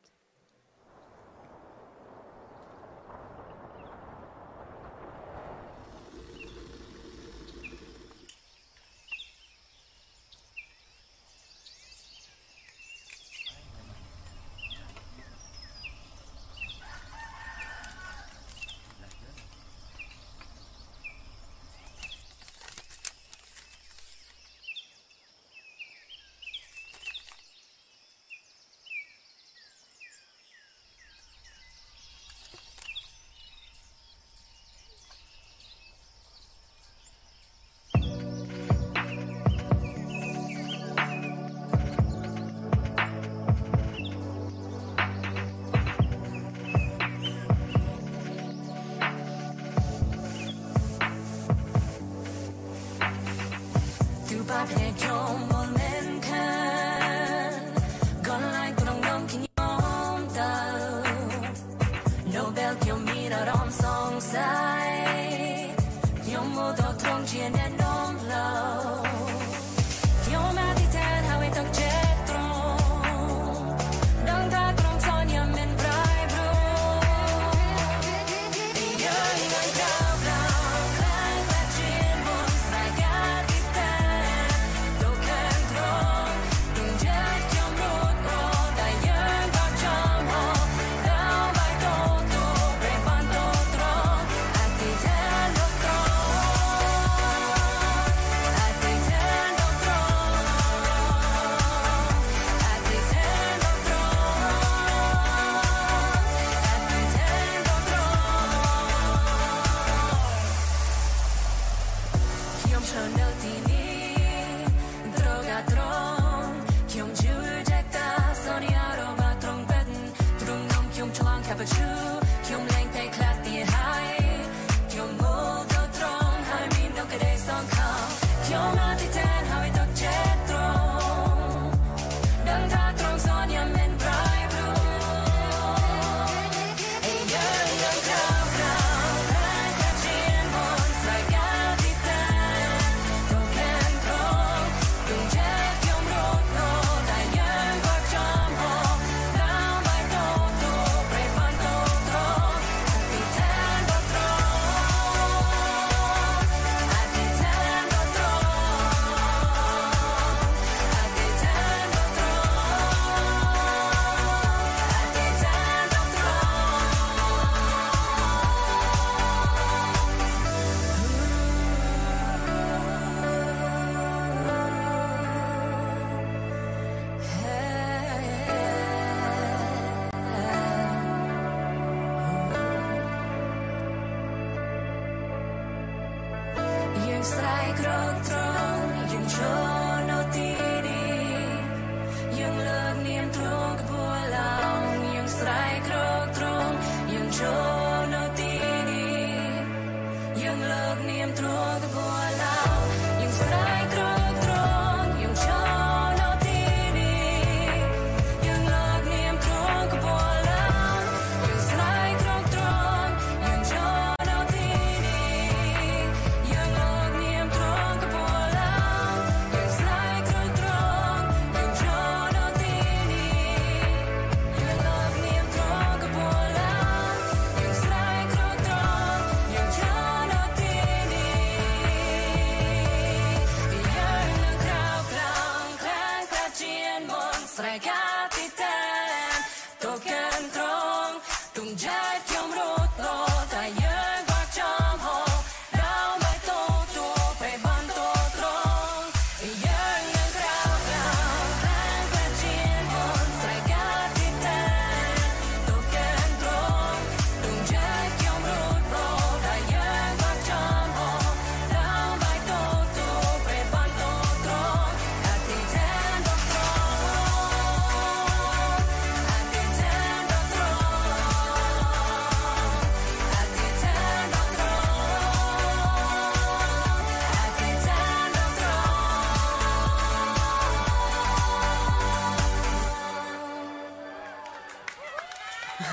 Hãy subscribe cho kênh Ghiền Mì Gõ để không bỏ lỡ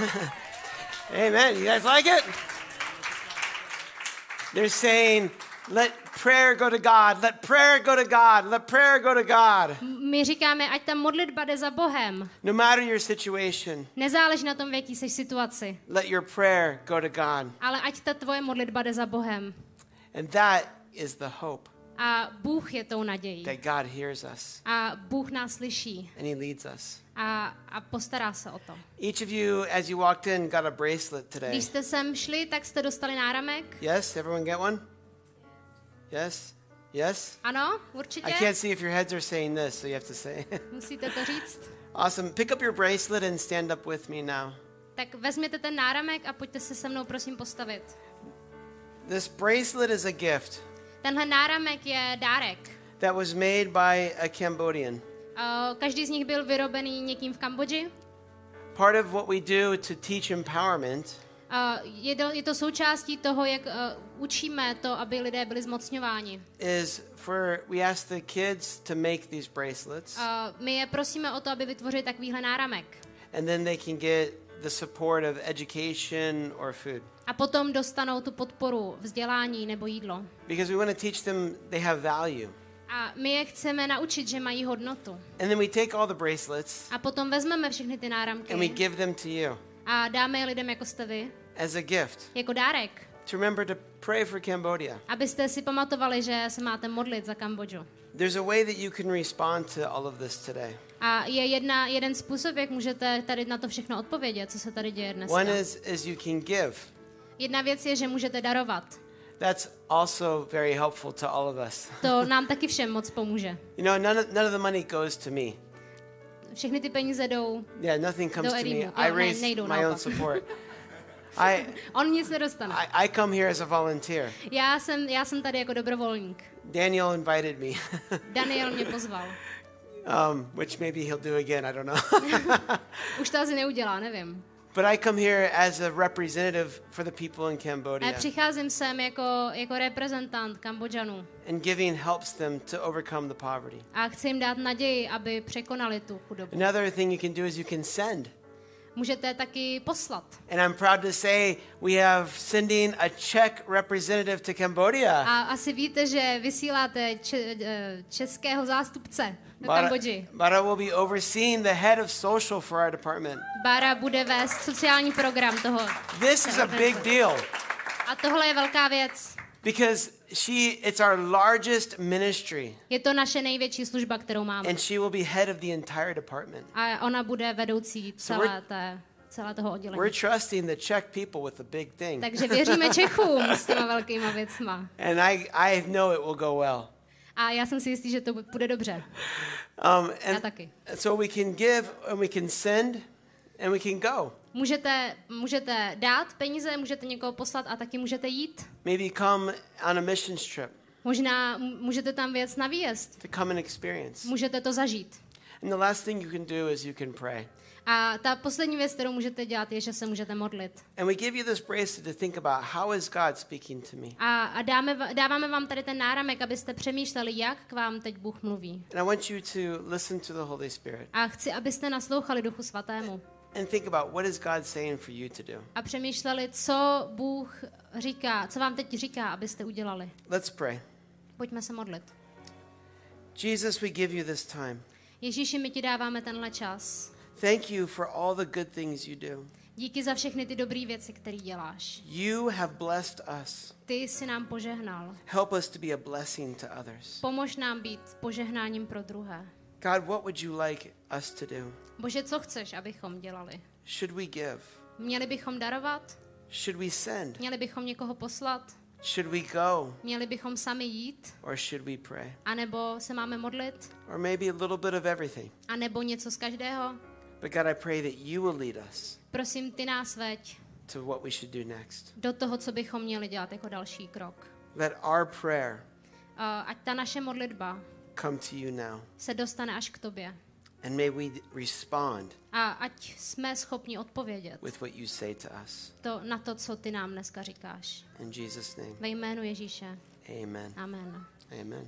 Amen. You guys like it? They're saying, let prayer go to God. Let prayer go to God. Let prayer go to God. My říkáme, ať ta modlitba jde za Bohem. No matter your situation, Nezáleží na tom, v jaký jsi situaci, let your prayer go to God. ale ať ta tvoje modlitba jde za Bohem. And that is the hope A Bůh je tou nadějí. that God hears us A Bůh nás slyší and He leads us. a, a postará se o to. Each of you, as you walked in, got a bracelet today. Když jste sem šli, tak jste dostali náramek. Yes? Everyone get one? Yes? Yes? Ano, I určitě. can't see if your heads are saying this, so you have to say. Musíte to říct. Awesome. Pick up your bracelet and stand up with me now. Tak vezměte ten náramek a pojďte se se mnou prosím postavit. This bracelet is a gift Tenhle náramek je dárek. that was made by a Cambodian. Uh, každý z nich byl vyrobený někým v Kambodži. Part of what we do to teach empowerment Uh, je, to, je to součástí toho, jak uh, učíme to, aby lidé byli zmocňováni. is for, we ask the kids to make these bracelets, Uh, my je prosíme o to, aby vytvořili takovýhle náramek. and then they can get the support of education or food. A potom dostanou tu podporu vzdělání nebo jídlo. Because we want to teach them they have value. A my je chceme naučit, že mají hodnotu. And then we take all the bracelets A potom vezmeme všechny ty náramky and we give them to you a dáme je lidem, jako jste vy, as a gift jako dárek. to remember to pray for Cambodia. Abyste si pamatovali, že se máte modlit za Kambodžu. There's a way that you can respond to all of this today. A je jedna, jeden způsob, jak můžete tady na to všechno odpovědět, co se tady děje dneska. One is, is you can give. Jedna věc je, že můžete darovat. That's also very helpful to all of us. To nám taky všem moc pomůže. You know, none of, none of the money goes to me. Všechny ty peníze jdou, Yeah, nothing comes Do to me. Edimu. I Jo, ne, raise nejdou my own naopak. support. I, on nic nedostane. I I come here as a volunteer. Já jsem, já jsem tady jako dobrovolník. Daniel invited me, Daniel mě pozval. um, which maybe he'll do again. I don't know. Už to asi neudělá, nevím. But I come here as a representative for the people in A Cambodia, přicházím sem jako, jako reprezentant Kambodžanů. and giving helps them to overcome the poverty. A chci jim dát naději, aby překonali tu chudobu. Another thing you can do is you can send. Můžete taky poslat. And I'm proud to say we have sending a Czech representative to Cambodia. A asi víte, že vysíláte če, eh, českého zástupce do Bara, Kambodži. Bara will be overseeing the head of social for our department. Bara bude vést sociální program toho. This is a big deal A tohle je velká věc. because she it's our largest ministry, Je to naše největší služba, kterou máme. and she will be head of the entire department. A ona bude vedoucí So we're- celé, té, celé toho oddělení. We're trusting the Czech people with the big thing. Takže věříme Čechům s těma velkýma věcma. And I, I know it will go well. A já jsem si jistý, že to bude dobře. Um, Já and taky. so we can give and we can send and we can go. Můžete, můžete dát peníze, můžete někoho poslat a taky můžete jít. Maybe come on a missions trip Možná m- můžete tam věc na výjezd. to come and experience. Můžete to zažít. And the last thing you can do is you can pray. A ta poslední věc, kterou můžete dělat, je, že se můžete modlit. And we give you this bracelet to think about how is God speaking to me. A, a dáme, va- dáváme vám tady ten náramek, abyste přemýšleli, jak k vám teď Bůh mluví. And I want you to listen to the Holy Spirit A chci, abyste naslouchali Duchu Svatému. and think about what is God saying for you to do. A přemýšleli, co Bůh říká, co vám teď říká, abyste udělali. Let's pray. Pojďme se modlit. Jesus, we give you this time. Ježíši, my ti dáváme tenhle čas. Thank you for all the good things you do. Díky za všechny ty dobré věci, které děláš. You have blessed us. Ty jsi nám požehnal. Help us to be a blessing to others. Pomož nám být požehnáním pro druhé. God, what would you like us to do? Bože, co chceš, abychom dělali? Should we give? Měli bychom darovat? Should we send? Měli bychom někoho poslat? Should we go? Měli bychom sami jít? Or should we pray? A nebo se máme modlit? Or maybe a little bit of everything. A nebo něco z každého? But God, I pray that you will lead us Prosím, ty nás veď to what we should do next. do toho, co bychom měli dělat jako další krok. Let our prayer Uh, ať ta naše modlitba come to you now. se dostane až k tobě. And may we respond A ať jsme schopni odpovědět with what you say to us. to, na to, co ty nám dneska říkáš. In Jesus' name, Ve jménu Ježíše. amen. Amen. Amen.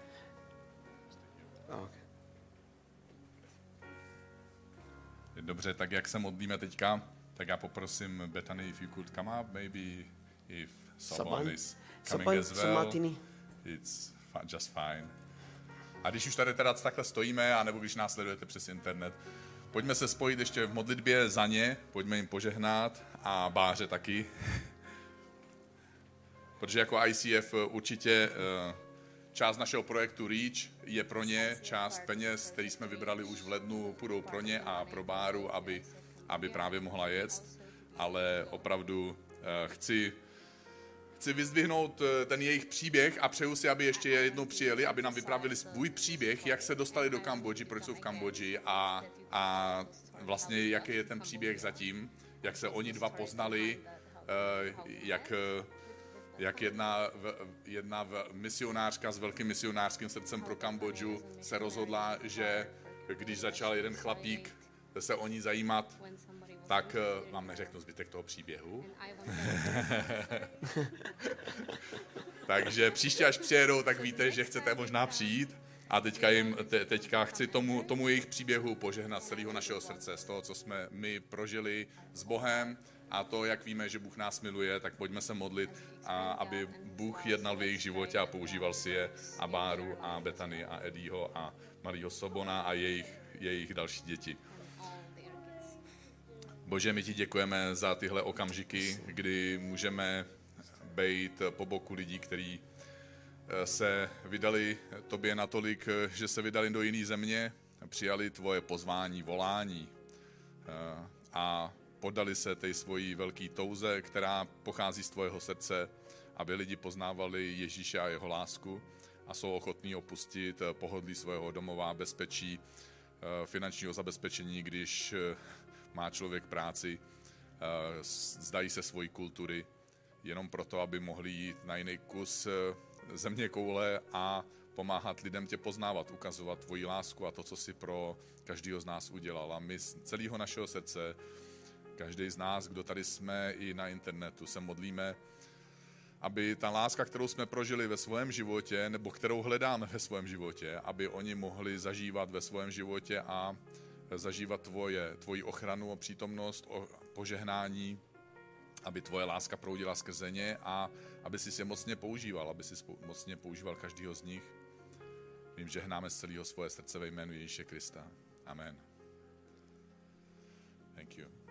Oh, okay. Dobře, tak jak se modlíme teďka, Tak já poprosím Bethany, if you could come up, maybe if Saban. someone is coming Saban, as well, Samatini. it's fi- just fine. A když už tady teda takhle stojíme, anebo když nás sledujete přes internet, pojďme se spojit ještě v modlitbě za ně, pojďme jim požehnat a Báře taky. Protože jako I C F určitě část našeho projektu REACH je pro ně, část peněz, který jsme vybrali už v lednu, půjdou pro ně a pro Báru, aby, aby právě mohla jet. Ale opravdu chci, chci vyzdvihnout ten jejich příběh a přeju si, aby ještě jednou přijeli, aby nám vyprávěli svůj příběh, jak se dostali do Kambodži, proč jsou v Kambodži a, a vlastně jaký je ten příběh zatím, jak se oni dva poznali, jak... jak jedna, jedna misionářka s velkým misionářským srdcem pro Kambodžu se rozhodla, že když začal jeden chlapík se o ní zajímat, tak vám neřeknu zbytek toho příběhu. Takže příště, až přijedou, tak víte, že chcete možná přijít. A teďka, jim, te, teďka chci tomu, tomu jejich příběhu požehnat z celého našeho srdce, z toho, co jsme my prožili s Bohem, a to, jak víme, že Bůh nás miluje, tak pojďme se modlit, a aby Bůh jednal v jejich životě a používal si je, a Báru a Bethany a Eddieho a Marího Sobona a jejich, jejich další děti. Bože, my ti děkujeme za tyhle okamžiky, kdy můžeme být po boku lidí, kteří se vydali tobě natolik, že se vydali do jiné země, přijali tvoje pozvání, volání a poddali se té svojí velké touze, která pochází z tvojeho srdce, aby lidi poznávali Ježíše a jeho lásku a jsou ochotní opustit pohodlí svého domova, bezpečí, finančního zabezpečení, když má člověk práci, zdají se svojí kultury, jenom proto, aby mohli jít na jiný kus země koule a pomáhat lidem tě poznávat, ukazovat tvoji lásku a to, co jsi pro každého z nás udělal. A my z celého našeho srdce, každý z nás, kdo tady jsme i na internetu, se modlíme, aby ta láska, kterou jsme prožili ve svém životě, nebo kterou hledáme ve svém životě, aby oni mohli zažívat ve svém životě a zažívat tvoje, tvoji ochranu a přítomnost, o požehnání, aby tvoje láska proudila skrze ně a aby jsi je mocně používal, aby jsi mocně používal každýho z nich. Vím, že hnáme z celého svoje srdce ve jménu Ježíše Krista. Amen. Thank you.